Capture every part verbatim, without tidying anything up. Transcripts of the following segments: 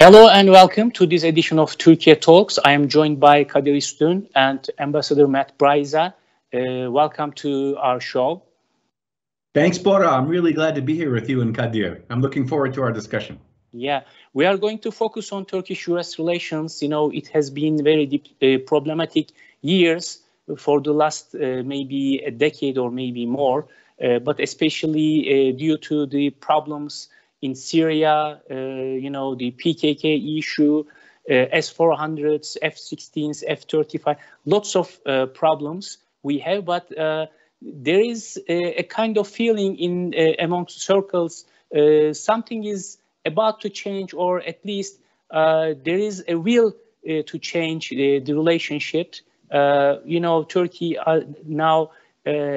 Hello and welcome to this edition of Turkey Talks. I am joined by Kadir Üstün and Ambassador Matt Braiza. Uh, welcome to our show. Thanks, Bora. I'm really glad to be here with you and Kadir. I'm looking forward to our discussion. Yeah, we are going to focus on Turkish-U S relations. You know, it has been very deep, uh, problematic years for the last uh, maybe a decade or maybe more, uh, but especially uh, due to the problems in Syria, uh, you know, the P K K issue, uh, S four hundreds, F sixteens, F thirty-five, lots of uh, problems we have, but uh, there is a, a kind of feeling in uh, among circles, uh, something is about to change, or at least uh, there is a will uh, to change uh, the relationship. Uh, you know, Turkey are now uh,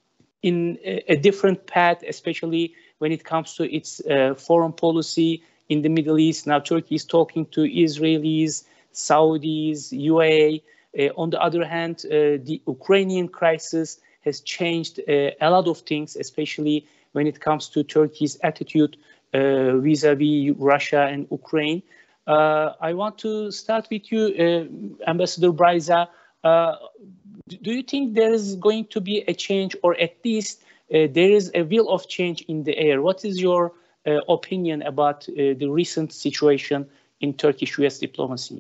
in a, a different path, especially when it comes to its uh, foreign policy in the Middle East. Now Turkey is talking to Israelis, Saudis, U A E. Uh, on the other hand, uh, the Ukrainian crisis has changed uh, a lot of things, especially when it comes to Turkey's attitude uh, vis-a-vis Russia and Ukraine. Uh, I want to start with you, uh, Ambassador Braiza. Uh, do you think there is going to be a change, or at least uh, there is a will of change in the air? What is your uh, opinion about uh, the recent situation in Turkish-U S diplomacy?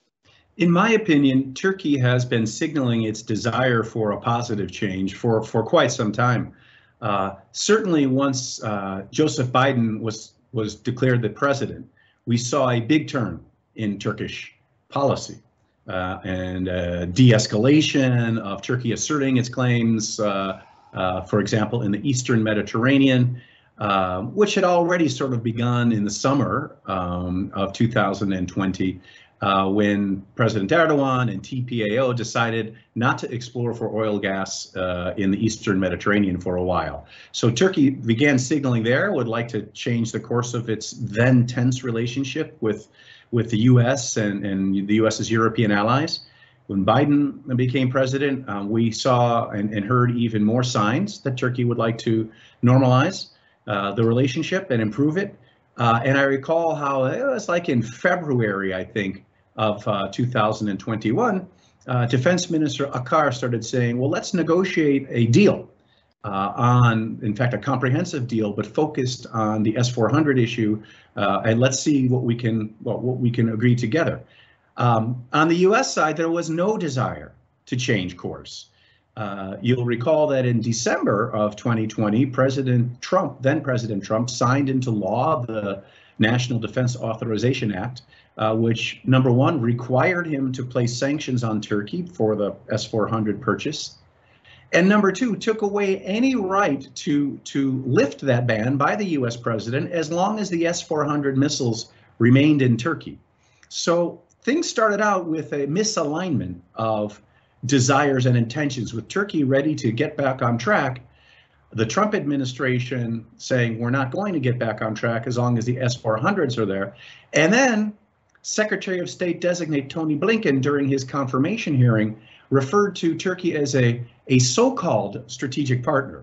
In my opinion, Turkey has been signaling its desire for a positive change for, for quite some time. Uh, certainly once uh, Joseph Biden was, was declared the president, we saw a big turn in Turkish policy. Uh, and uh, de-escalation of Turkey asserting its claims, uh, uh, for example, in the Eastern Mediterranean, uh, which had already sort of begun in the summer um, of two thousand twenty, uh, when President Erdogan and T P A O decided not to explore for oil gas uh, in the Eastern Mediterranean for a while. So Turkey began signaling there, would like to change the course of its then tense relationship with with the U S and, and the US's European allies. When Biden became president, um, we saw and, and heard even more signs that Turkey would like to normalize uh, the relationship and improve it. Uh, and I recall how it was like in February, I think, of uh, two thousand twenty-one, uh, Defense Minister Akar started saying, well, let's negotiate a deal. Uh, on, in fact, a comprehensive deal, but focused on the S four hundred issue, uh, and let's see what we can well, what we can agree together. Um, on the U S side, there was no desire to change course. Uh, you'll recall that in December of twenty twenty, President Trump, then President Trump, signed into law the National Defense Authorization Act, uh, which, number one, required him to place sanctions on Turkey for the S four hundred purchase. And number two, took away any right to, to lift that ban by the U S president as long as the S four hundred missiles remained in Turkey. So things started out with a misalignment of desires and intentions, with Turkey ready to get back on track, the Trump administration saying we're not going to get back on track as long as the S four hundreds are there. And then Secretary of State designate Tony Blinken, during his confirmation hearing, referred to Turkey as a, a so-called strategic partner.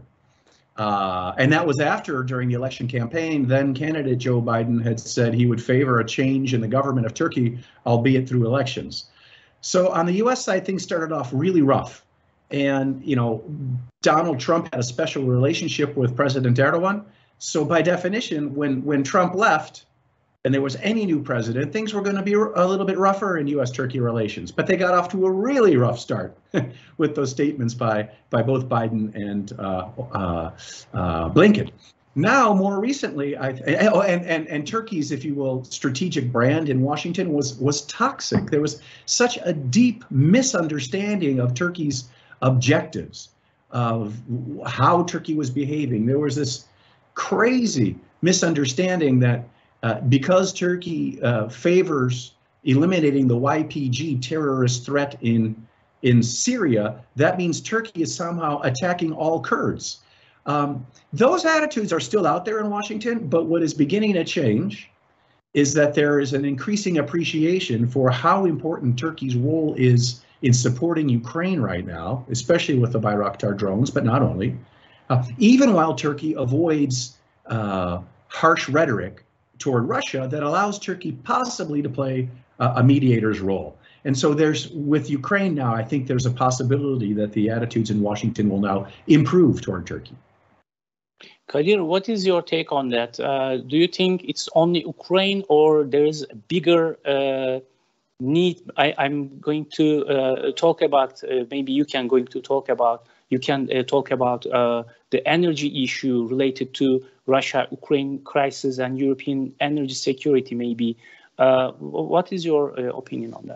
Uh, and that was after, during the election campaign, then candidate Joe Biden had said he would favor a change in the government of Turkey, albeit through elections. So on the U S side, things started off really rough. And, you know, Donald Trump had a special relationship with President Erdogan. So by definition, when, when Trump left, and there was any new president, things were going to be a little bit rougher in U S Turkey relations. But they got off to a really rough start with those statements by, by both Biden and uh, uh, uh, Blinken. Now, more recently, I, and, and, and Turkey's, if you will, strategic brand in Washington was, was toxic. There was such a deep misunderstanding of Turkey's objectives, of how Turkey was behaving. There was this crazy misunderstanding that Uh, because Turkey uh, favors eliminating the Y P G terrorist threat in, in Syria, that means Turkey is somehow attacking all Kurds. Um, those attitudes are still out there in Washington, but what is beginning to change is that there is an increasing appreciation for how important Turkey's role is in supporting Ukraine right now, especially with the Bayraktar drones, but not only. Uh, even while Turkey avoids uh, harsh rhetoric toward Russia that allows Turkey possibly to play a, a mediator's role. And so there's, with Ukraine now, I think there's a possibility that the attitudes in Washington will now improve toward Turkey. Kadir, what is your take on that? Uh, do you think it's only Ukraine, or there is a bigger uh, need? I, I'm going to uh, talk about, uh, maybe you can going to talk about, you can uh, talk about uh, the energy issue related to Russia-Ukraine crisis and European energy security, maybe. Uh, what is your uh, opinion on that?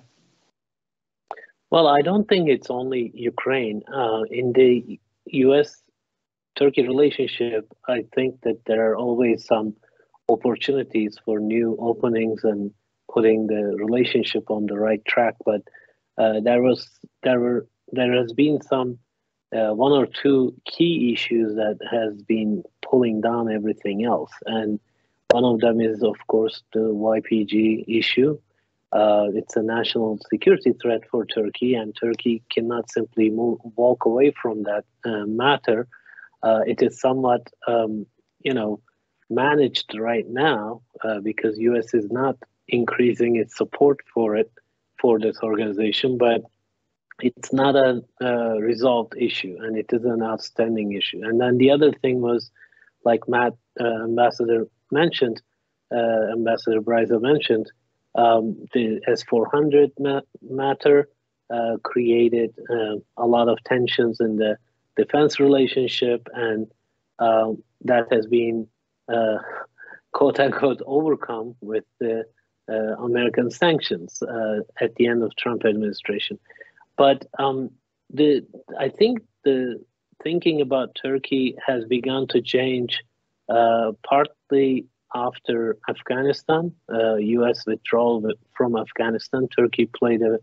Well, I don't think it's only Ukraine. Uh, in the U S Turkey relationship, I think that there are always some opportunities for new openings and putting the relationship on the right track. But uh, there was there were there has been some uh, one or two key issues that has been pulling down everything else, and one of them is, of course, the Y P G issue. Uh, it's a national security threat for Turkey, and Turkey cannot simply move, walk away from that uh, matter. Uh, it is somewhat, um, you know, managed right now uh, because U S is not increasing its support for it, for this organization, but it's not a uh, resolved issue, and it is an outstanding issue. And then the other thing was, like Matt, uh, Ambassador mentioned, uh, Ambassador Bryza mentioned, um, the S four hundred ma matter uh, created uh, a lot of tensions in the defense relationship, and uh, that has been uh, quote unquote overcome with the uh, American sanctions uh, at the end of Trump administration. But um, the I think the thinking about Turkey has begun to change uh, partly after Afghanistan, uh, U S withdrawal from Afghanistan. Turkey played a,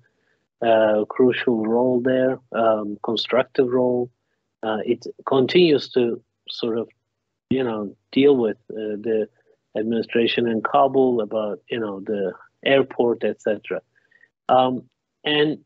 a crucial role there, um, constructive role. Uh, it continues to sort of, you know, deal with uh, the administration in Kabul about, you know, the airport, et cetera. Um, and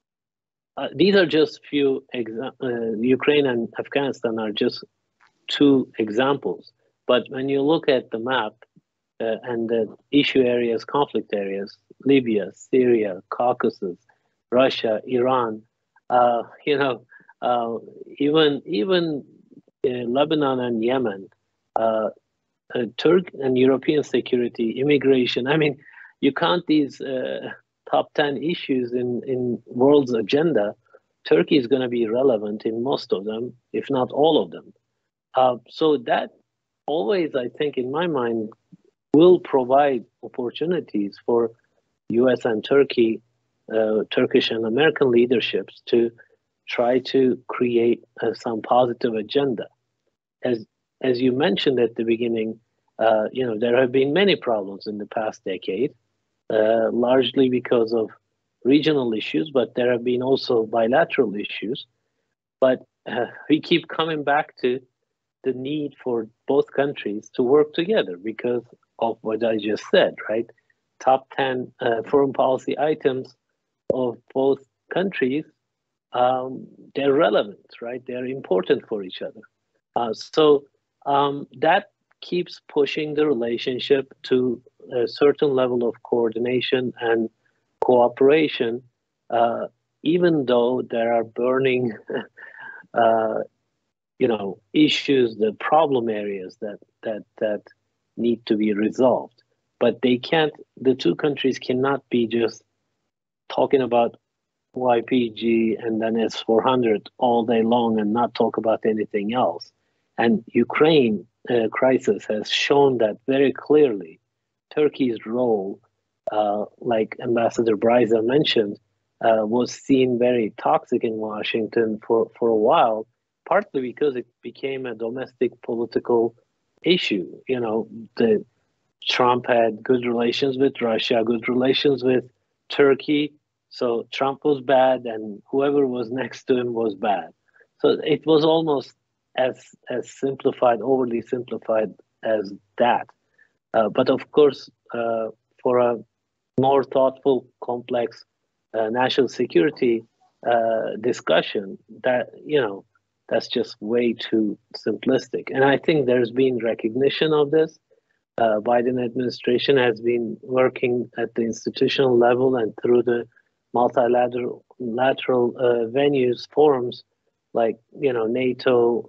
uh, these are just few. Exa uh, Ukraine and Afghanistan are just two examples. But when you look at the map uh, and the issue areas, conflict areas, Libya, Syria, Caucasus, Russia, Iran, uh, you know. Uh, even even uh, Lebanon and Yemen, uh, uh, Turk and European security, immigration. I mean, you count these uh, top ten issues in in world's agenda. Turkey is going to be relevant in most of them, if not all of them. Uh, so that always, I think, in my mind, will provide opportunities for U S and Turkey, uh, Turkish and American leaderships to try to create uh, some positive agenda. As as you mentioned at the beginning, uh, you know, there have been many problems in the past decade, uh, largely because of regional issues, but there have been also bilateral issues. But uh, we keep coming back to the need for both countries to work together because of what I just said, right? Top ten uh, foreign policy items of both countries, um, they're relevant, right? They're important for each other. Uh, so um, that keeps pushing the relationship to a certain level of coordination and cooperation, uh, even though there are burning uh, you know, issues, the problem areas that that that need to be resolved. But they can't, the two countries cannot be just talking about Y P G and then S four hundred all day long and not talk about anything else. And Ukraine uh, crisis has shown that very clearly. Turkey's role, uh, like Ambassador Bryza mentioned, uh, was seen very toxic in Washington for, for a while, partly because it became a domestic political issue. You know, the Trump had good relations with Russia, good relations with Turkey. So Trump was bad, and whoever was next to him was bad. So it was almost as as simplified, overly simplified as that. Uh, but of course, uh, for a more thoughtful, complex uh, national security uh, discussion, that you know. That's just way too simplistic. And I think there's been recognition of this. uh, Biden administration has been working at the institutional level and through the multilateral lateral uh, venues, forums like you know NATO,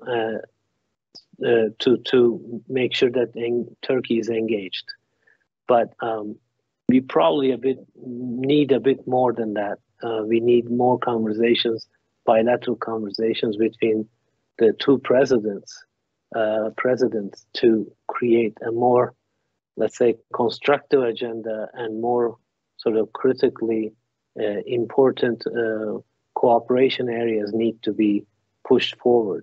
uh, uh, to to make sure that en- Turkey is engaged. But um, we probably a bit need a bit more than that. Uh, we need more conversations, bilateral conversations between the two presidents, uh, presidents to create a more, let's say, constructive agenda and more sort of critically uh, important uh, cooperation areas need to be pushed forward.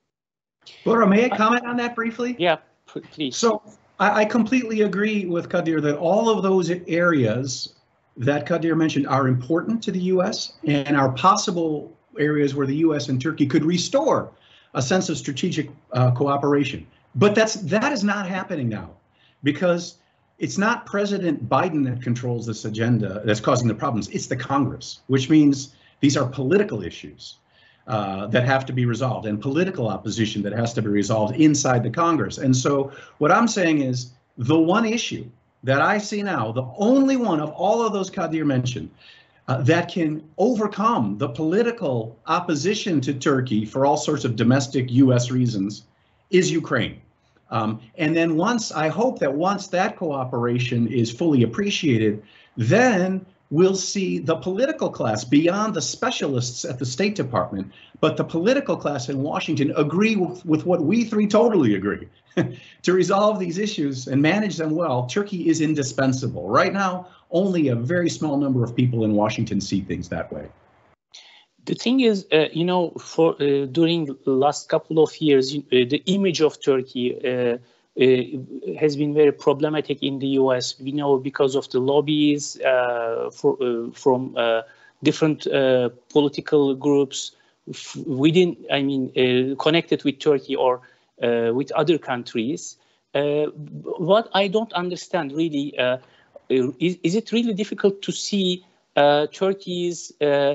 Laura, may I comment on that briefly? Yeah, please. So I, I completely agree with Kadir that all of those areas that Kadir mentioned are important to the U S and are possible areas where the U S and Turkey could restore a sense of strategic uh, cooperation. But that's that is not happening now, because it's not President Biden that controls this agenda that's causing the problems. It's the Congress, which means these are political issues uh, that have to be resolved, and political opposition that has to be resolved inside the Congress. And so what I'm saying is the one issue that I see now, the only one of all of those Kadir mentioned, uh, that can overcome the political opposition to Turkey for all sorts of domestic U S reasons is Ukraine. Um, and then once, I hope that once that cooperation is fully appreciated, then we'll see the political class beyond the specialists at the State Department, but the political class in Washington agree with, with what we three totally agree. To resolve these issues and manage them well, Turkey is indispensable. Right now, only a very small number of people in Washington see things that way. The thing is, uh, you know, for uh, during the last couple of years, uh, the image of Turkey uh, uh, has been very problematic in the U S. We know because of the lobbies uh, for, uh, from uh, different uh, political groups within, I mean, uh, connected with Turkey or uh, with other countries. Uh, what I don't understand really, uh, is, is it really difficult to see uh, Turkey's uh,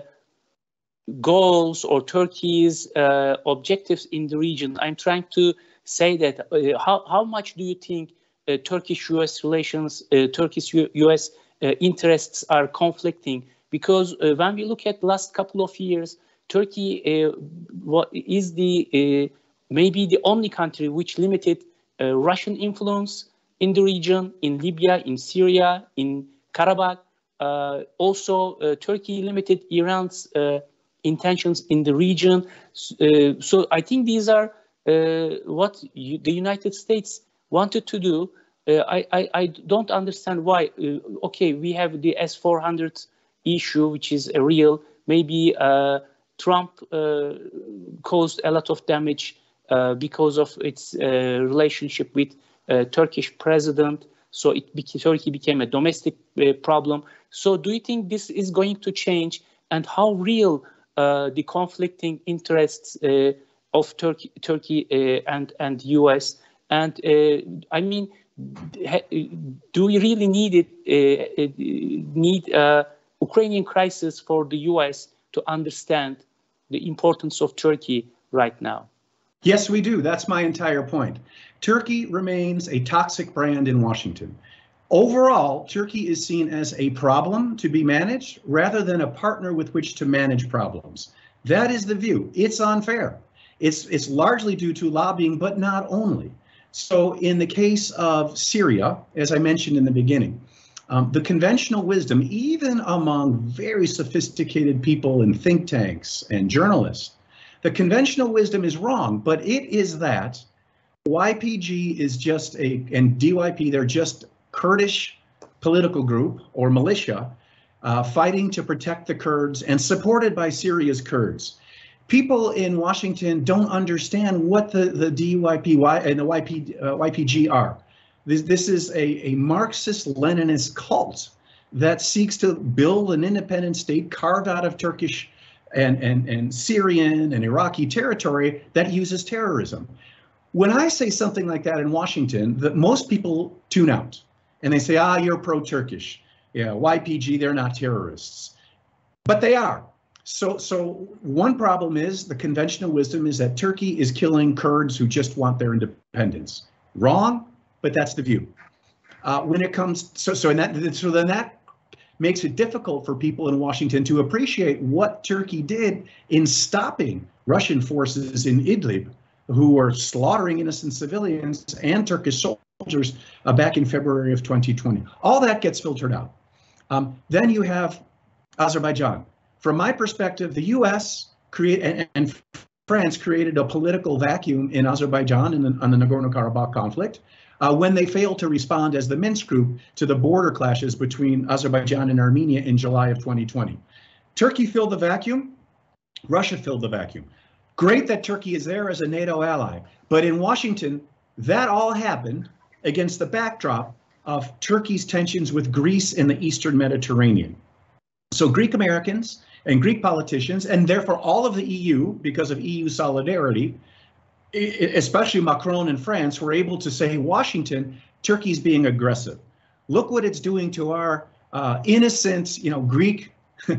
goals or Turkey's uh, objectives in the region? I'm trying to say that uh, how, how much do you think uh, Turkish-U S relations, uh, Turkish-U S uh, interests are conflicting? Because uh, when we look at the last couple of years, Turkey uh, what is the uh, maybe the only country which limited uh, Russian influence in the region, in Libya, in Syria, in Karabakh. Uh, also, uh, Turkey limited Iran's uh, intentions in the region. Uh, so I think these are uh, what you, the United States wanted to do. Uh, I, I, I don't understand why. Uh, okay, we have the S four hundred issue, which is a real, maybe uh, Trump uh, caused a lot of damage uh, because of its uh, relationship with uh, Turkish president. So it became, Turkey became a domestic uh, problem. So do you think this is going to change, and how real Uh, the conflicting interests uh, of Turkey, Turkey uh, and and U S and uh, I mean, do we really need it? Uh, need uh, Ukrainian crisis for the U S to understand the importance of Turkey right now? Yes, we do. That's my entire point. Turkey remains a toxic brand in Washington. Overall, Turkey is seen as a problem to be managed rather than a partner with which to manage problems. That is the view. It's unfair. It's, it's largely due to lobbying, but not only. So in the case of Syria, as I mentioned in the beginning, um, the conventional wisdom, even among very sophisticated people in think tanks and journalists, the conventional wisdom is wrong, but it is that Y P G is just a, and D Y P, they're just Kurdish political group or militia uh, fighting to protect the Kurds and supported by Syria's Kurds. People in Washington don't understand what the, the D Y P y, and the Y P, uh, Y P G are. This, this is a, a Marxist-Leninist cult that seeks to build an independent state carved out of Turkish and, and, and Syrian and Iraqi territory that uses terrorism. When I say something like that in Washington, that most people tune out. And they say, ah, you're pro-Turkish. Yeah, Y P G, they're not terrorists. But they are. So, so one problem is the conventional wisdom is that Turkey is killing Kurds who just want their independence. Wrong, but that's the view. uh, when it comes, so so in that so then that makes it difficult for people in Washington to appreciate what Turkey did in stopping Russian forces in Idlib, who were slaughtering innocent civilians and Turkish soldiers uh, back in February of twenty twenty. All that gets filtered out. Um, then you have Azerbaijan. From my perspective, the U S create and, and France created a political vacuum in Azerbaijan in the, on the Nagorno-Karabakh conflict uh, when they failed to respond as the Minsk group to the border clashes between Azerbaijan and Armenia in July of twenty twenty. Turkey filled the vacuum. Russia filled the vacuum. Great that Turkey is there as a NATO ally, but in Washington, that all happened against the backdrop of Turkey's tensions with Greece in the Eastern Mediterranean. So Greek Americans and Greek politicians, and therefore all of the E U, because of E U solidarity, especially Macron in France, were able to say, Washington, Turkey's being aggressive. Look what it's doing to our uh, innocent, you know, Greek uh,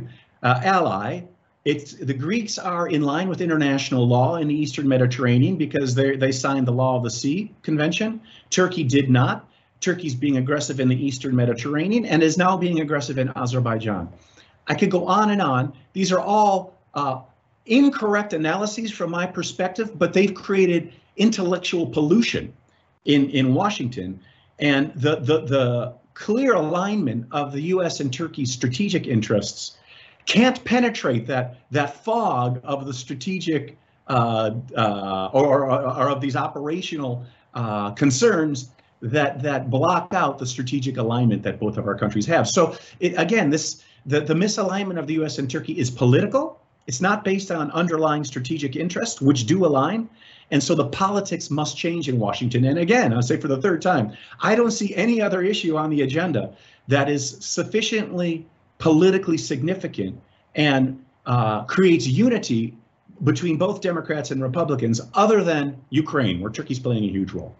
ally. It's the Greeks are in line with international law in the Eastern Mediterranean because they they signed the Law of the Sea Convention. Turkey did not. Turkey's being aggressive in the Eastern Mediterranean and is now being aggressive in Azerbaijan. I could go on and on. These are all uh, incorrect analyses from my perspective, but they've created intellectual pollution in, in Washington. And the, the, the clear alignment of the U S and Turkey's strategic interests can't penetrate that, that fog of the strategic uh, uh, or, or, or of these operational uh, concerns that, that block out the strategic alignment that both of our countries have. So it, again, this the, the misalignment of the U S and Turkey is political. It's not based on underlying strategic interests, which do align. And so the politics must change in Washington. And again, I'll say for the third time, I don't see any other issue on the agenda that is sufficiently politically significant and uh, creates unity between both Democrats and Republicans other than Ukraine, where Turkey's playing a huge role.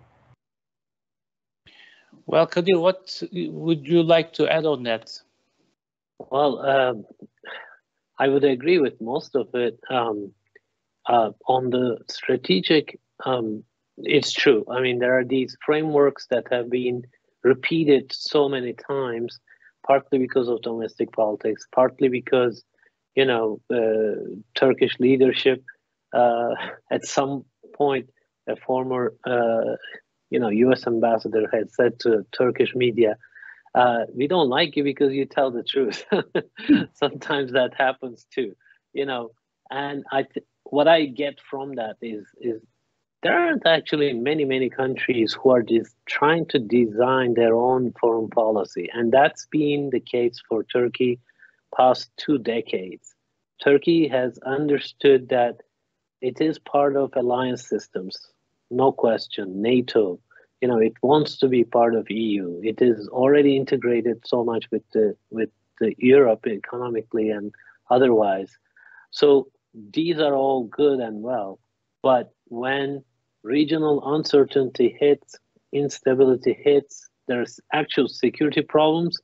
Well, Kadir, what would you like to add on that? Well, um, I would agree with most of it. Um, uh, on the strategic, um, it's true. I mean, there are these frameworks that have been repeated so many times, partly because of domestic politics, partly because, you know, uh, Turkish leadership, uh, at some point, a former, uh, you know, U S ambassador had said to Turkish media, Uh, we don't like you because you tell the truth. Sometimes that happens too, you know. And I, th what I get from that is, is there aren't actually many, many countries who are just trying to design their own foreign policy, and that's been the case for Turkey past two decades. Turkey has understood that it is part of alliance systems, no question, NATO. You know, it wants to be part of E U. It is already integrated so much with the with the Europe economically and otherwise. So these are all good and well, but when regional uncertainty hits, instability hits, there's actual security problems,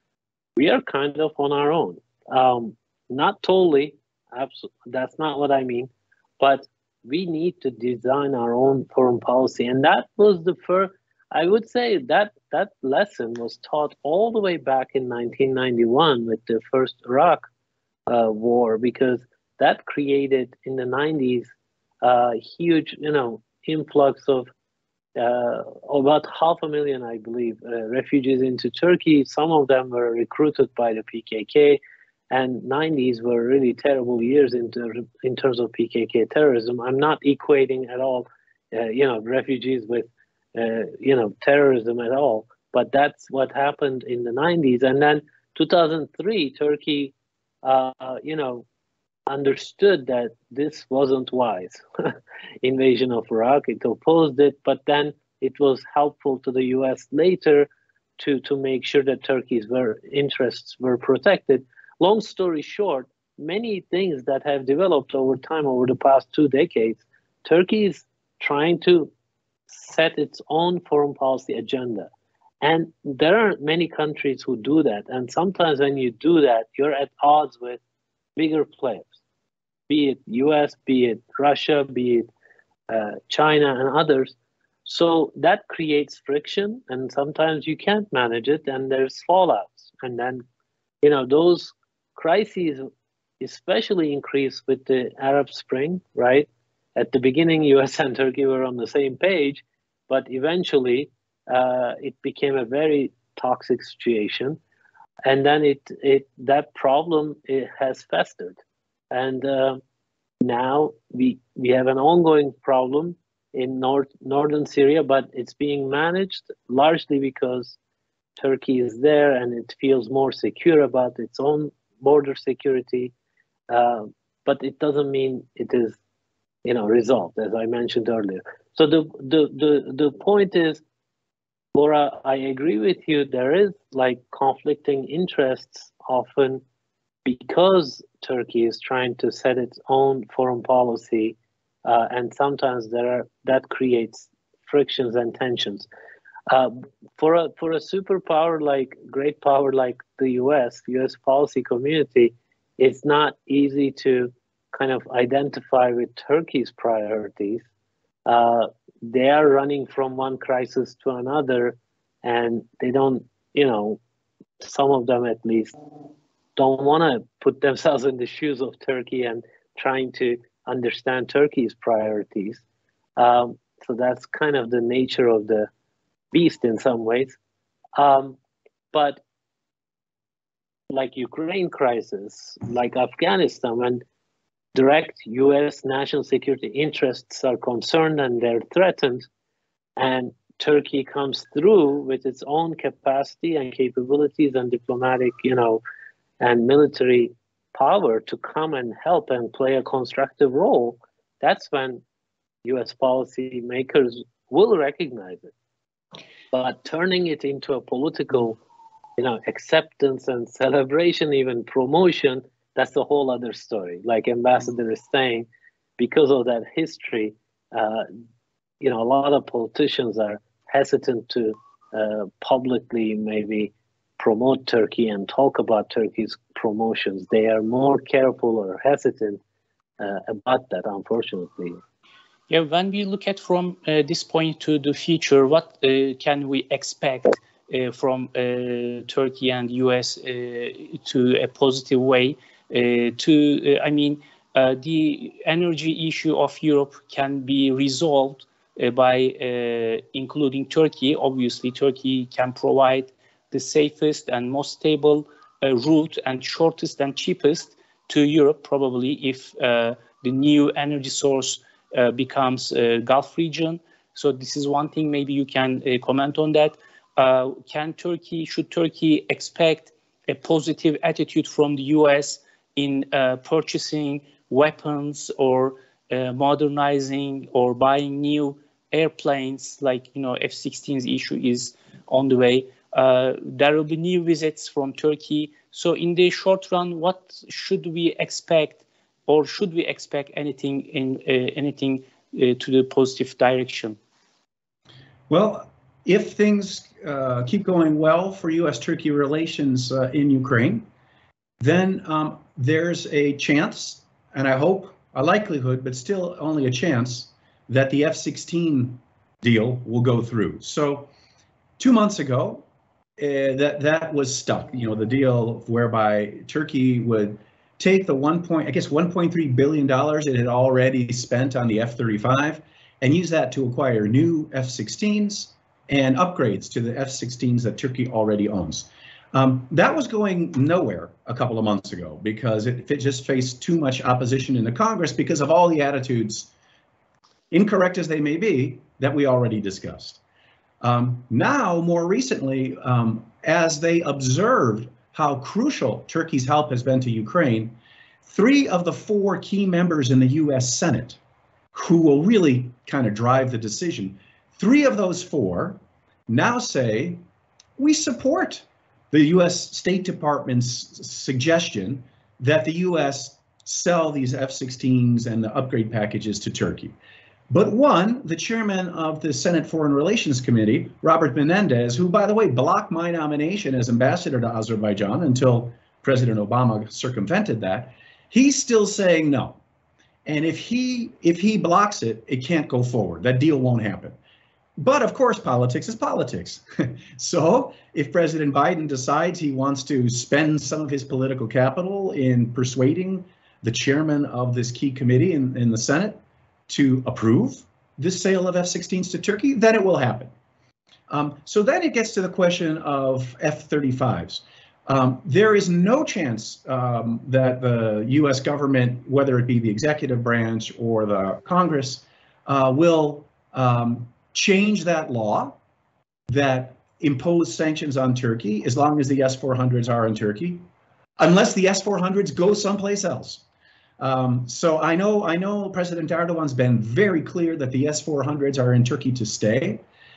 we are kind of on our own. Um, not totally, absolutely, that's not what I mean, but we need to design our own foreign policy. And that was the first, I would say that that lesson was taught all the way back in nineteen ninety-one with the first Iraq uh, war, because that created in the nineties a uh, huge, you know, influx of uh, about half a million, I believe, uh, refugees into Turkey. Some of them were recruited by the P K K. And nineties were really terrible years in, ter in terms of P K K terrorism. I'm not equating at all, uh, you know, refugees with, uh, you know, terrorism at all. But that's what happened in the nineties. And then two thousand three, Turkey, uh, you know, understood that this wasn't wise. Invasion of Iraq, it opposed it, but then it was helpful to the U S later to, to make sure that Turkey's were, interests were protected. Long story short, many things that have developed over time, over the past two decades, Turkey is trying to set its own foreign policy agenda. And there are many countries who do that. And sometimes when you do that, you're at odds with bigger players, be it U S, be it Russia, be it uh, China and others. So that creates friction, and sometimes you can't manage it, and there's fallouts. And then, you know, those crises especially increase with the Arab Spring, right? At the beginning, U S and Turkey were on the same page, but eventually uh, it became a very toxic situation. And then it, it that problem it has festered. And uh, now we, we have an ongoing problem in north, northern Syria, but it's being managed largely because Turkey is there and it feels more secure about its own border security. Uh, but it doesn't mean it is, you know, resolved, as I mentioned earlier. So the the the, the point is, Laura, I agree with you. There is like conflicting interests often because Turkey is trying to set its own foreign policy. Uh, and sometimes there are, that creates frictions and tensions. Uh, for a for a superpower like great power like the U S, U S policy community, it's not easy to kind of identify with Turkey's priorities. Uh, they are running from one crisis to another, and they don't, you know, some of them at least don't want to put themselves in the shoes of Turkey and trying to understand Turkey's priorities. Um, so that's kind of the nature of the beast in some ways. Um, but like Ukraine crisis, like Afghanistan, when direct U S national security interests are concerned and they're threatened, and Turkey comes through with its own capacity and capabilities and diplomatic, you know, and military power to come and help and play a constructive role, that's when U S policy makers will recognize it. But turning it into a political, you know, acceptance and celebration, even promotion, that's a whole other story. Like Ambassador is saying, because of that history, uh, you know, a lot of politicians are hesitant to uh, publicly maybe promote Turkey and talk about Turkey's promotions. They are more careful or hesitant uh, about that, unfortunately. Yeah, when we look at from uh, this point to the future, what uh, can we expect uh, from uh, Turkey and U S uh, to a positive way? Uh, to, uh, I mean, uh, the energy issue of Europe can be resolved uh, by uh, including Turkey. Obviously, Turkey can provide the safest and most stable uh, route and shortest and cheapest to Europe, probably, if uh, the new energy source uh, becomes uh, Gulf region. So this is one thing. Maybe you can uh, comment on that. Uh, can Turkey, should Turkey expect a positive attitude from the U S in uh, purchasing weapons or uh, modernizing or buying new airplanes, like, you know, F sixteens issue is on the way? Uh, there will be new visits from Turkey. So in the short run, what should we expect, or should we expect anything in uh, anything uh, to the positive direction? Well, if things uh, keep going well for U S Turkey relations uh, in Ukraine, then um, there's a chance, and I hope a likelihood, but still only a chance, that the F sixteen deal will go through. So two months ago, Uh, that that was stuck. You know, the deal whereby Turkey would take the one point, I guess, one point three billion dollars it had already spent on the F thirty-five and use that to acquire new F sixteens and upgrades to the F sixteens that Turkey already owns. Um, that was going nowhere a couple of months ago because it, it just faced too much opposition in the Congress because of all the attitudes, incorrect as they may be, that we already discussed. Um, now, more recently, um, as they observed how crucial Turkey's help has been to Ukraine, three of the four key members in the U S Senate, who will really kind of drive the decision, three of those four now say, we support the U S State Department's suggestion that the U S sell these F sixteens and the upgrade packages to Turkey. But one, the chairman of the Senate Foreign Relations Committee, Robert Menendez, who, by the way, blocked my nomination as ambassador to Azerbaijan until President Obama circumvented that, he's still saying no. And if he if he blocks it, it can't go forward. That deal won't happen. But of course, politics is politics. So if President Biden decides he wants to spend some of his political capital in persuading the chairman of this key committee in, in the Senate to approve this sale of F sixteens to Turkey, then it will happen. Um, so then it gets to the question of F thirty-fives. Um, there is no chance um, that the U S government, whether it be the executive branch or the Congress, uh, will um, change that law that impose sanctions on Turkey as long as the S four hundreds are in Turkey, unless the S four hundreds go someplace else. Um, so I know I know President Erdogan's been very clear that the S four hundreds are in Turkey to stay,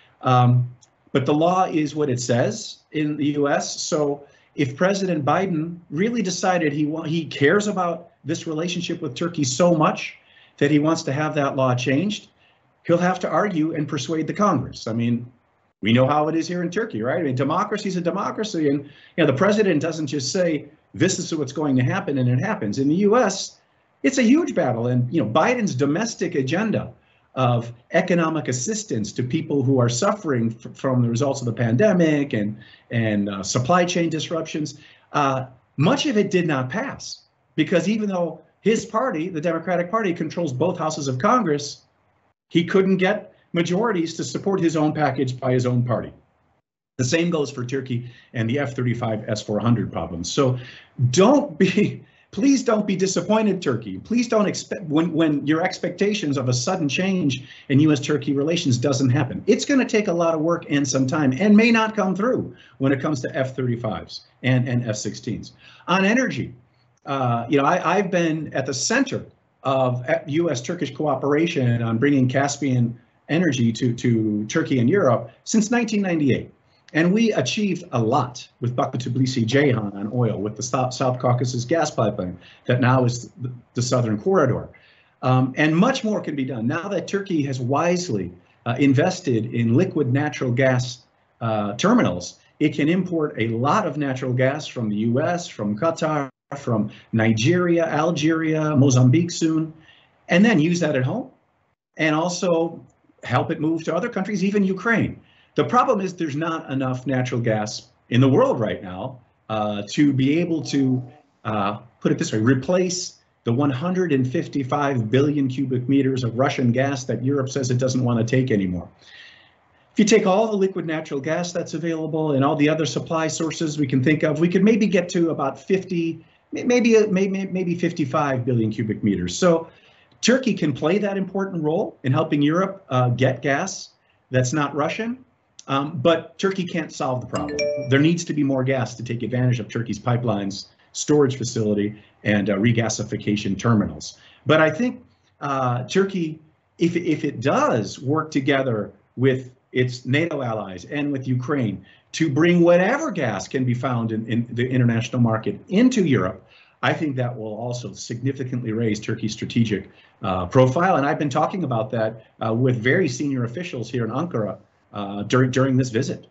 um, but the law is what it says in the U S. So if President Biden really decided he wa- he cares about this relationship with Turkey so much that he wants to have that law changed, he'll have to argue and persuade the Congress. I mean, we know how it is here in Turkey, right? I mean, democracy is a democracy, and you know the president doesn't just say this is what's going to happen and it happens. In the U S, it's a huge battle, and you know Biden's domestic agenda of economic assistance to people who are suffering f- from the results of the pandemic and and uh, supply chain disruptions, uh, much of it did not pass because even though his party, the Democratic Party, controls both houses of Congress, he couldn't get majorities to support his own package by his own party. The same goes for Turkey and the F thirty-five S four hundred problems. So don't be, please don't be disappointed, Turkey. Please don't expect, when, when your expectations of a sudden change in U S Turkey relations doesn't happen. It's going to take a lot of work and some time and may not come through when it comes to F thirty-fives and, and F sixteens. On energy, uh, you know, I, I've been at the center of U S Turkish cooperation on bringing Caspian energy to, to Turkey and Europe since nineteen ninety-eight. And we achieved a lot with Baku Tbilisi Ceyhan on oil, with the South, South Caucasus gas pipeline that now is the, the Southern Corridor. Um, and much more can be done. Now that Turkey has wisely uh, invested in liquid natural gas uh, terminals, it can import a lot of natural gas from the U S, from Qatar, from Nigeria, Algeria, Mozambique soon, and then use that at home and also help it move to other countries, even Ukraine. The problem is there's not enough natural gas in the world right now uh, to be able to, uh, put it this way, replace the one hundred fifty-five billion cubic meters of Russian gas that Europe says it doesn't want to take anymore. If you take all the liquid natural gas that's available and all the other supply sources we can think of, we could maybe get to about fifty, maybe maybe maybe fifty-five billion cubic meters. So Turkey can play that important role in helping Europe uh, get gas that's not Russian, um, but Turkey can't solve the problem. There needs to be more gas to take advantage of Turkey's pipelines, storage facility, and uh, regasification terminals. But I think uh, Turkey, if, if it does work together with its NATO allies and with Ukraine to bring whatever gas can be found in, in the international market into Europe, I think that will also significantly raise Turkey's strategic uh, profile. And I've been talking about that uh, with very senior officials here in Ankara uh, during, during this visit.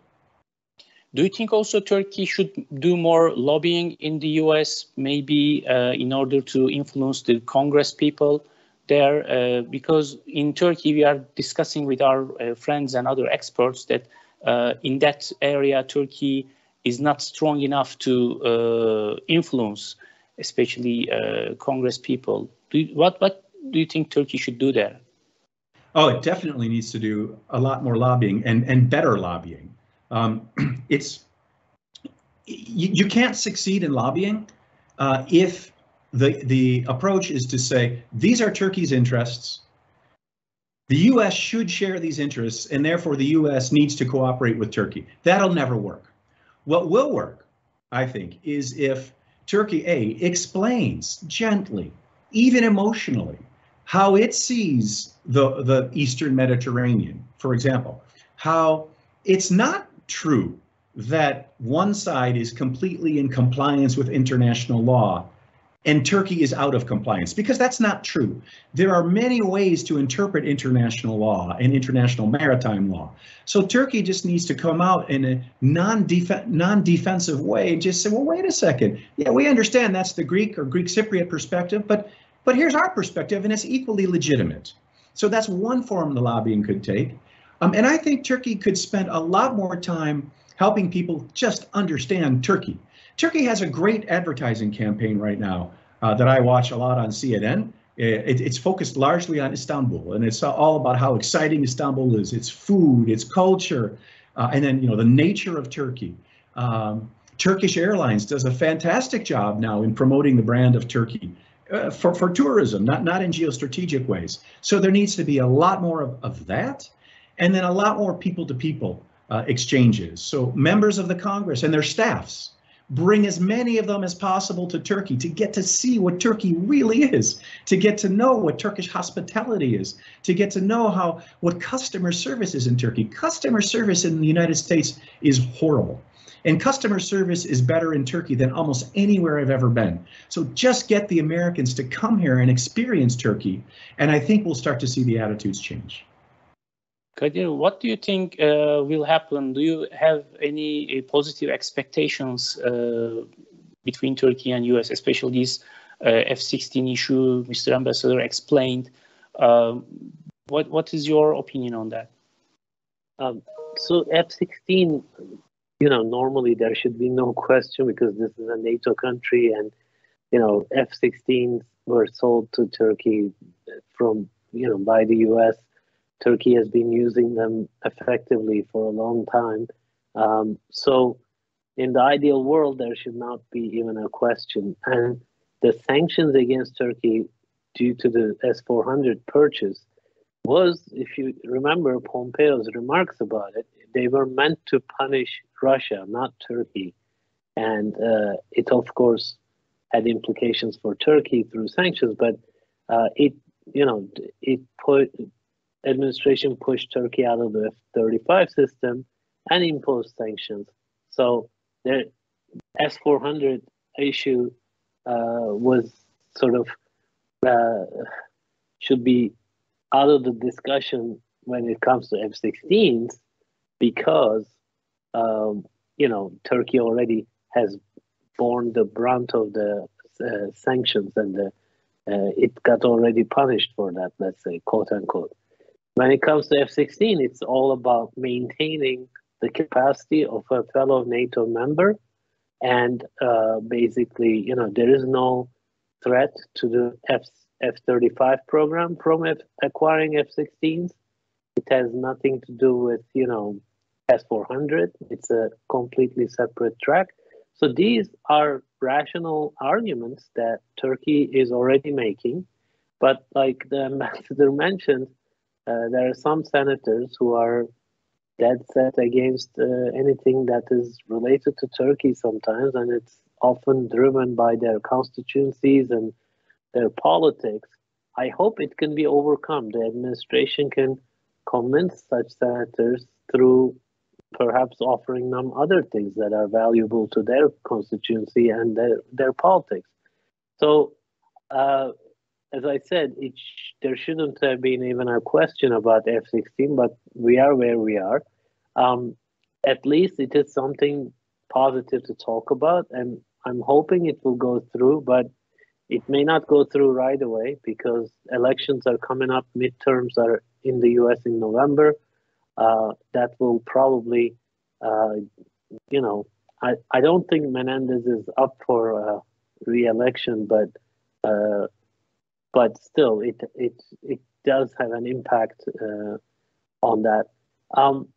Do you think also Turkey should do more lobbying in the U S, maybe uh, in order to influence the Congress people there? Uh, because in Turkey, we are discussing with our uh, friends and other experts that uh, in that area, Turkey is not strong enough to uh, influence, especially uh, Congress people. Do you, what, what do you think Turkey should do there? Oh, it definitely needs to do a lot more lobbying and, and better lobbying. Um, it's you, you can't succeed in lobbying uh, if the the approach is to say these are Turkey's interests. The U S should share these interests, and therefore the U S needs to cooperate with Turkey. That'll never work. What will work, I think, is if Turkey A explains gently, even emotionally, how it sees the the Eastern Mediterranean, for example, how it's not true that one side is completely in compliance with international law and Turkey is out of compliance, because that's not true. There are many ways to interpret international law and international maritime law. So Turkey just needs to come out in a non-def- non-defensive way and just say, well, wait a second. Yeah, we understand that's the Greek or Greek Cypriot perspective, but but here's our perspective and it's equally legitimate. So that's one form the lobbying could take. Um, and I think Turkey could spend a lot more time helping people just understand Turkey. Turkey has a great advertising campaign right now uh, that I watch a lot on C N N. It, it's focused largely on Istanbul, and it's all about how exciting Istanbul is, its food, its culture, uh, and then, you know, the nature of Turkey. Um, Turkish Airlines does a fantastic job now in promoting the brand of Turkey uh, for, for tourism, not, not in geostrategic ways. So there needs to be a lot more of, of that, and then a lot more people-to-people uh, exchanges. So members of the Congress and their staffs bring as many of them as possible to Turkey to get to see what Turkey really is, to get to know what Turkish hospitality is, to get to know how what customer service is in Turkey. Customer service in the United States is horrible. And customer service is better in Turkey than almost anywhere I've ever been. So just get the Americans to come here and experience Turkey, and I think we'll start to see the attitudes change. Kadir, what do you think uh, will happen? Do you have any uh, positive expectations uh, between Turkey and U S, especially this uh, F sixteen issue Mister Ambassador explained? Uh, what What is your opinion on that? Um, so F sixteen, you know, normally there should be no question because this is a NATO country, and, you know, F sixteens were sold to Turkey from, you know, by the U S. Turkey has been using them effectively for a long time. Um, so in the ideal world, there should not be even a question. And the sanctions against Turkey due to the S four hundred purchase was, if you remember Pompeo's remarks about it, they were meant to punish Russia, not Turkey. And uh, it, of course, had implications for Turkey through sanctions, but uh, it, you know, it put... administration pushed Turkey out of the F thirty-five system and imposed sanctions. So the S four hundred issue uh, was sort of uh, should be out of the discussion when it comes to F sixteens because um, you know, Turkey already has borne the brunt of the uh, sanctions, and the, uh, it got already punished for that, let's say, quote unquote. When it comes to F sixteen, it's all about maintaining the capacity of a fellow NATO member. And uh, basically, you know, there is no threat to the F, F thirty-five program from F, acquiring F sixteens. It has nothing to do with, you know, S four hundred. It's a completely separate track. So these are rational arguments that Turkey is already making. But like the ambassador mentioned, Uh, there are some senators who are dead set against uh, anything that is related to Turkey sometimes, and it's often driven by their constituencies and their politics. I hope it can be overcome. The administration can convince such senators through perhaps offering them other things that are valuable to their constituency and their, their politics. So, uh, as I said, it sh there shouldn't have been even a question about F sixteen, but we are where we are. Um, at least it is something positive to talk about, and I'm hoping it will go through, but it may not go through right away because elections are coming up, midterms are in the U S in November. Uh, that will probably, uh, you know, I, I don't think Menendez is up for uh, re-election, but uh, but still, it it it does have an impact uh, on that. Um,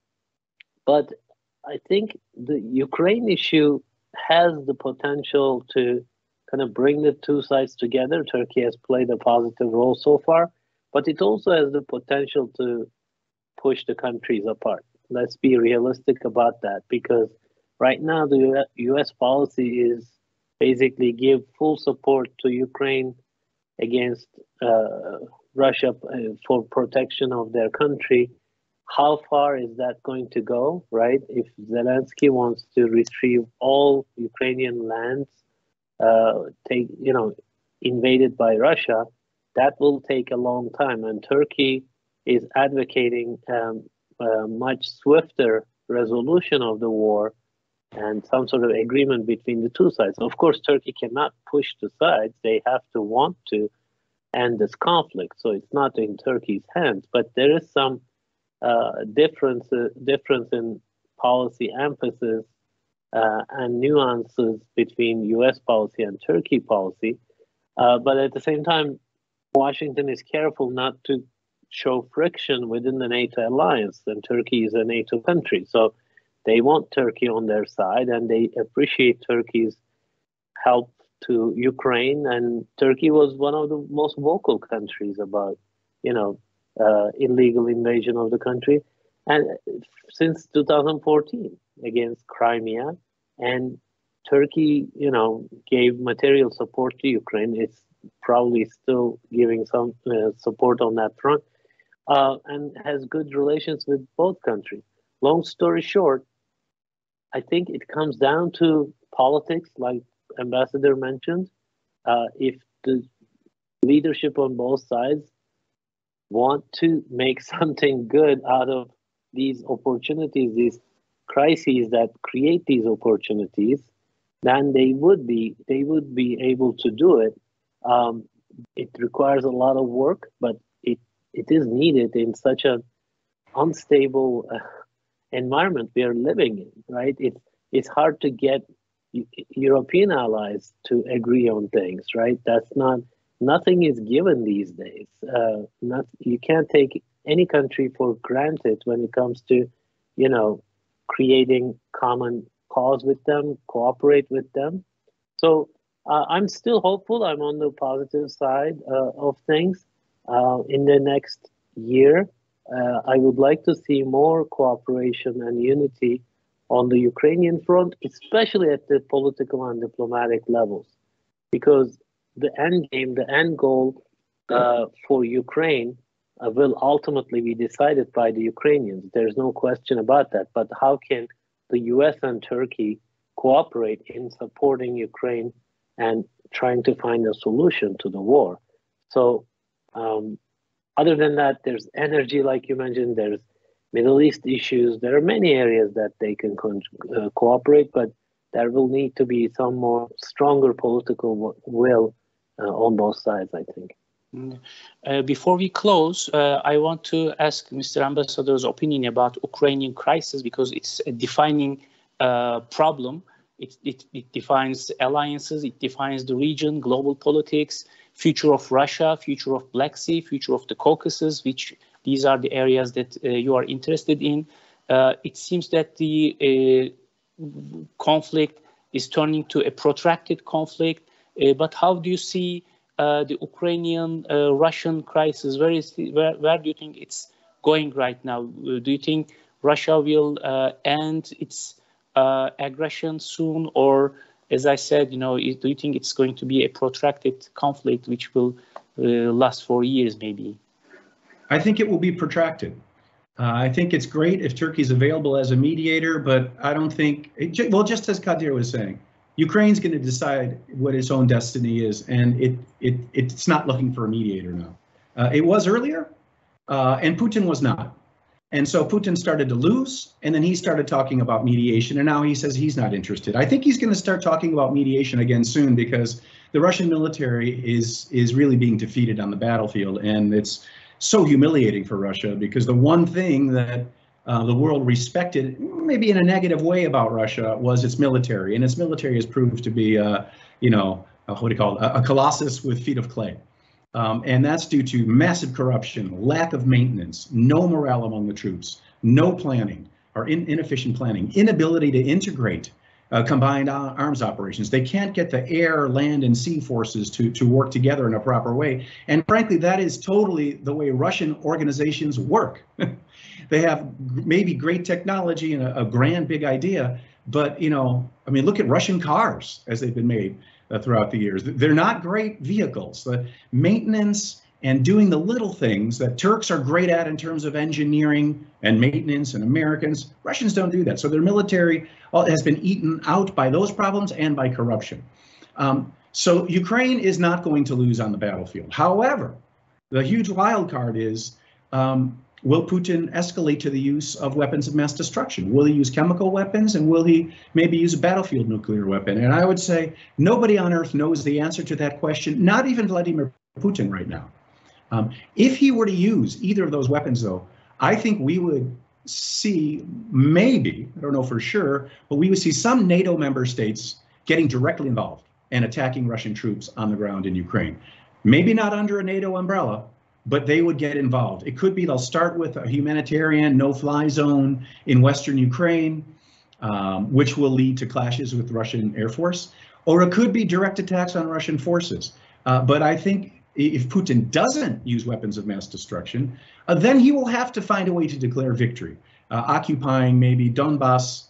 but I think the Ukraine issue has the potential to kind of bring the two sides together. Turkey has played a positive role so far, but it also has the potential to push the countries apart. Let's be realistic about that, because right now the U S policy is basically give full support to Ukraine against uh, Russia for protection of their country. How far is that going to go, right? If Zelensky wants to retrieve all Ukrainian lands, uh, take you know, invaded by Russia, that will take a long time. And Turkey is advocating um, a much swifter resolution of the war and some sort of agreement between the two sides. Of course, Turkey cannot push the sides. They have to want to end this conflict. So it's not in Turkey's hands, but there is some uh, difference difference in policy emphasis uh, and nuances between U S policy and Turkey policy. Uh, but at the same time, Washington is careful not to show friction within the NATO alliance, and Turkey is a NATO country. So they want Turkey on their side, and they appreciate Turkey's help to Ukraine. And Turkey was one of the most vocal countries about, you know, uh, illegal invasion of the country, and since two thousand fourteen against Crimea. And Turkey, you know, gave material support to Ukraine. It's probably still giving some uh, support on that front, uh, and has good relations with both countries. Long story short, I think it comes down to politics, like Ambassador mentioned. Uh, if the leadership on both sides want to make something good out of these opportunities, these crises that create these opportunities, then they would be they would be able to do it. Um, it requires a lot of work, but it it is needed in such an unstable uh, environment we are living in, right? It's it's hard to get European allies to agree on things, right? That's not nothing is given these days. Uh, not you can't take any country for granted when it comes to, you know, creating common cause with them, cooperate with them. So uh, I'm still hopeful. I'm on the positive side uh, of things. Uh, in the next year, uh, I would like to see more cooperation and unity on the Ukrainian front, especially at the political and diplomatic levels, because the end game, the end goal uh, for Ukraine uh, will ultimately be decided by the Ukrainians. There's no question about that. But how can the U S and Turkey cooperate in supporting Ukraine and trying to find a solution to the war? So um, other than that, there's energy, like you mentioned, there's Middle East issues. There are many areas that they can con- uh, cooperate, but there will need to be some more stronger political w- will uh, on both sides, I think. Uh, before we close, uh, I want to ask Mister Ambassador's opinion about Ukrainian crisis, because it's a defining uh, problem. It, it, it defines alliances, it defines the region, global politics, future of Russia, future of Black Sea, future of the Caucasus, which these are the areas that uh, you are interested in. Uh, it seems that the uh, conflict is turning to a protracted conflict, uh, but how do you see uh, the Ukrainian-Russian uh, crisis? Where, is the, where, where do you think it's going right now? Uh, do you think Russia will uh, end its uh, aggression soon, or, as I said, you know, do you think it's going to be a protracted conflict which will uh, last for years, maybe? I think it will be protracted. Uh, I think it's great if Turkey's available as a mediator, but I don't think, it, well, just as Kadir was saying, Ukraine's going to decide what its own destiny is, and it it it's not looking for a mediator now. Uh, it was earlier, uh, and Putin was not. And so Putin started to lose, and then he started talking about mediation, and now he says he's not interested. I think he's going to start talking about mediation again soon, because the Russian military is is really being defeated on the battlefield, and it's so humiliating for Russia, because the one thing that uh, the world respected, maybe in a negative way, about Russia was its military, and its military has proved to be, uh, you know, uh, what do you call it, a, a colossus with feet of clay. Um, and that's due to massive corruption, lack of maintenance, no morale among the troops, no planning, or in, inefficient planning, inability to integrate uh, combined arms operations. They can't get the air, land, and sea forces to, to work together in a proper way. And frankly, that is totally the way Russian organizations work. They have maybe great technology and a, a grand big idea, but, you know, I mean, look at Russian cars as they've been made uh, throughout the years. They're not great vehicles. The maintenance and doing the little things that Turks are great at in terms of engineering and maintenance, and Americans, Russians don't do that. So their military has been eaten out by those problems and by corruption. Um, so Ukraine is not going to lose on the battlefield. However, the huge wild card is, um, will Putin escalate to the use of weapons of mass destruction? Will he use chemical weapons, and will he maybe use a battlefield nuclear weapon? And I would say nobody on earth knows the answer to that question, not even Vladimir Putin right now. Um, if he were to use either of those weapons, though, I think we would see maybe, I don't know for sure, but we would see some NATO member states getting directly involved and attacking Russian troops on the ground in Ukraine. Maybe not under a NATO umbrella, but they would get involved. It could be they'll start with a humanitarian no-fly zone in Western Ukraine, um, which will lead to clashes with the Russian Air Force, or it could be direct attacks on Russian forces. Uh, but I think if Putin doesn't use weapons of mass destruction, uh, then he will have to find a way to declare victory, uh, occupying maybe Donbass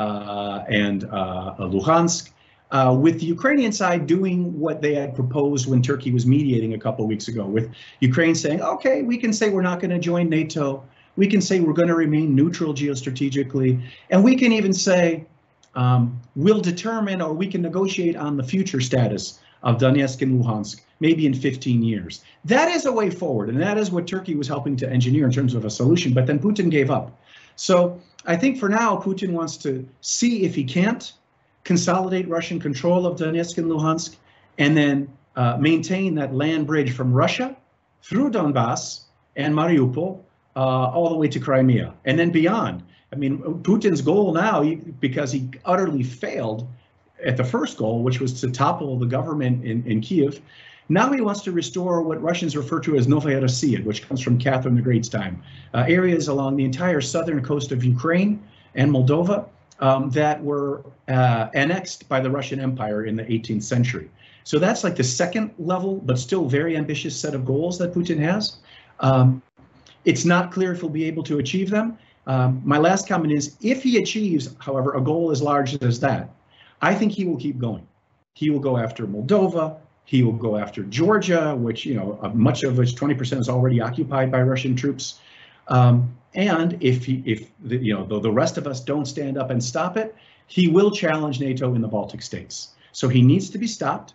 uh, and uh, Luhansk, uh, with the Ukrainian side doing what they had proposed when Turkey was mediating a couple of weeks ago, with Ukraine saying, okay, we can say we're not going to join NATO, we can say we're going to remain neutral geostrategically, and we can even say um, we'll determine or we can negotiate on the future status of Donetsk and Luhansk, maybe in fifteen years. That is a way forward, and that is what Turkey was helping to engineer in terms of a solution, but then Putin gave up. So I think for now, Putin wants to see if he can't consolidate Russian control of Donetsk and Luhansk, and then uh, maintain that land bridge from Russia through Donbass and Mariupol uh, all the way to Crimea, and then beyond. I mean, Putin's goal now, because he utterly failed at the first goal, which was to topple the government in, in Kiev, now he wants to restore what Russians refer to as Novaya Rossiya, which comes from Catherine the Great's time, uh, areas along the entire southern coast of Ukraine and Moldova um, that were uh, annexed by the Russian Empire in the eighteenth century. So that's like the second level, but still very ambitious set of goals that Putin has. Um, it's not clear if he'll be able to achieve them. Um, my last comment is, if he achieves, however, a goal as large as that, I think he will keep going. He will go after Moldova. He will go after Georgia, which, you know, uh, much of which twenty percent is already occupied by Russian troops. Um, and if he, if the, you know, though the rest of us don't stand up and stop it, he will challenge NATO in the Baltic states. So he needs to be stopped.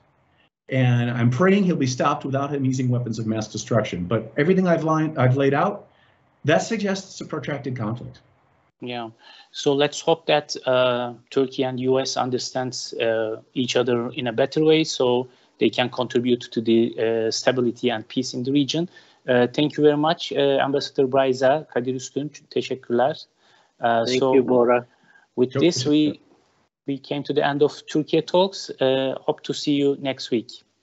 And I'm praying he'll be stopped without him using weapons of mass destruction. But everything I've, lined, I've laid out, that suggests a protracted conflict. Yeah, so let's hope that uh, Turkey and U S understands uh, each other in a better way, so they can contribute to the uh, stability and peace in the region. Uh, thank you very much, uh, Ambassador Braiza, Kadir Üstün. Teşekkürler. Uh, thank so you, Bora. With this, we we came to the end of Turkey Talks. Uh, hope to see you next week.